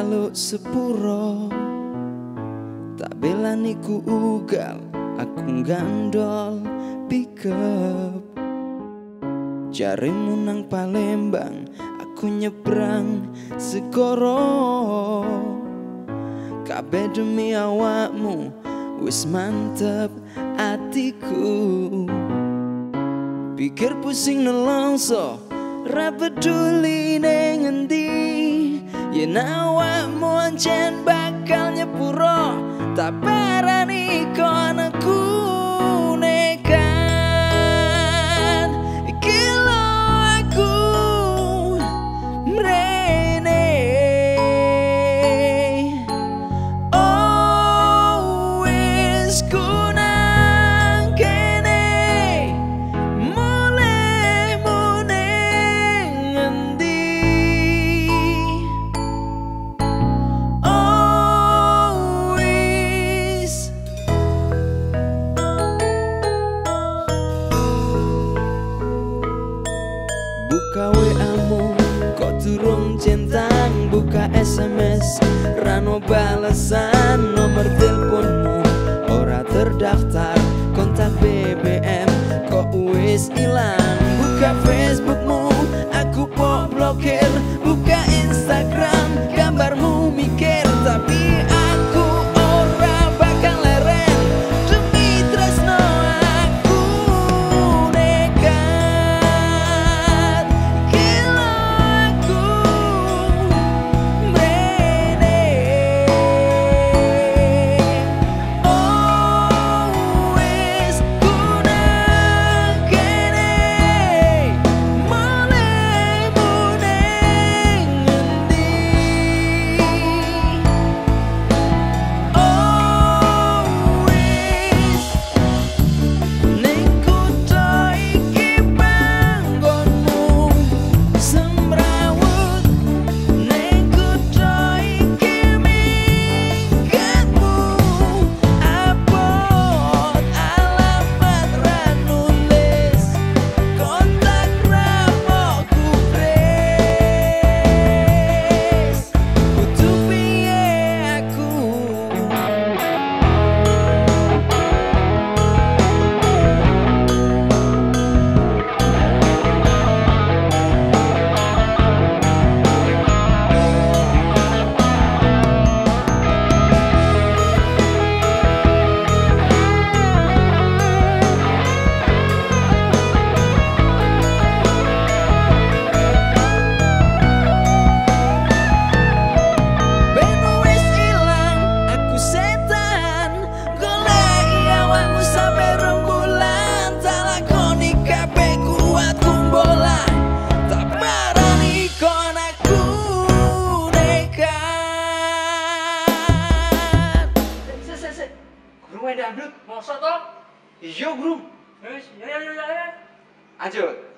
njaluk sepuro, tak belani ku ugal, aku gandol pickup. Jarimu nang Palembang, aku nyebrang segoro. Kabeh demi awakmu, wis mantep atiku. Pikir pusing nelongso, ra peduli ning endi. Yen awakmu ancen bakal nyepuro, tak parani kok anakku nekat. Iki lho aku mrene. Oh wis ku nang kene, mulemu ning endi. Oh wis buka WA-mu kok durung centang, buka SMS rano balesan, nomor teleponmu ora terdaftar, kontak BBM kok wis ilang. Buka Facebookmu aku kok blokir, buka Instagram gambarmu mikir, tapi aku ora bakal leren demi tresno aku nekat. Gila aku mrene. Oh wis ku nang kene, mulemu ning endi. Oh wis ning kutho iki panggonmu, semrawut ning kutho iki minggatmu. Abot alamat ra nulis, kontak ra mau gubres. Kudu piye aku? Ben wis ilang, aku setan goleki awakmu sampe rembulan, tak lakoni kabeh kuat kumbolan, tak parani kon aku nekat. Sik. Guru main dangdut, mosok toh? Iya, Bro. Wis, ya. Lanjut.